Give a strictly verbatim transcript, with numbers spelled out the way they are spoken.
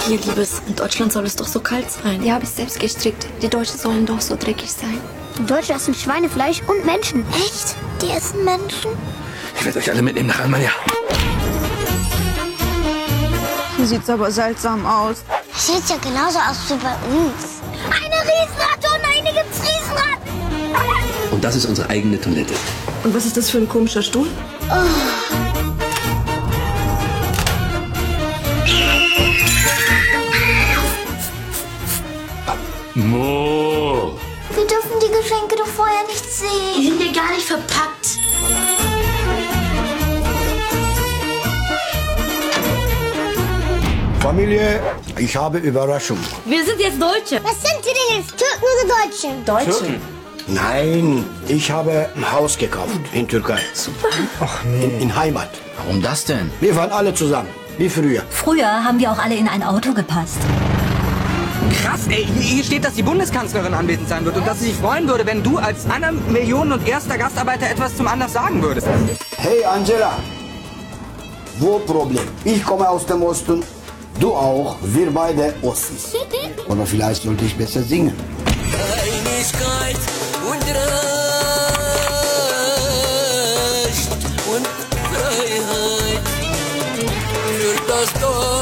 Hier, Liebes, in Deutschland soll es doch so kalt sein. Die habe ich selbst gestrickt. Die Deutschen sollen doch so dreckig sein. Die Deutschen essen Schweinefleisch und Menschen. Echt? Die essen Menschen? Ich werde euch alle mitnehmen nach Almania. Hier sieht's aber seltsam aus. Das sieht ja genauso aus wie bei uns. Eine Riesenratte und eine gibt's Riesenratten. Und das ist unsere eigene Toilette. Und was ist das für ein komischer Stuhl? Oh. Mo. Wir dürfen die Geschenke doch vorher nicht sehen. Die sind ja gar nicht verpackt. Familie, ich habe Überraschung. Wir sind jetzt Deutsche. Was sind Sie denn jetzt? Türken oder Deutsche? Deutsche? Nein, ich habe ein Haus gekauft in Türkei. Super. Ach nee. In, in Heimat. Warum das denn? Wir waren alle zusammen, wie früher. Früher haben wir auch alle in ein Auto gepasst. Krass, ey, hier steht, dass die Bundeskanzlerin anwesend sein wird und dass sie sich freuen würde, wenn du als einer Millionen und erster Gastarbeiter etwas zum Anlass sagen würdest. Hey Angela, wo Problem? Ich komme aus dem Osten, du auch, wir beide Ossis. Oder vielleicht sollte ich besser singen. Einigkeit und Recht und Freiheit für das Dorf.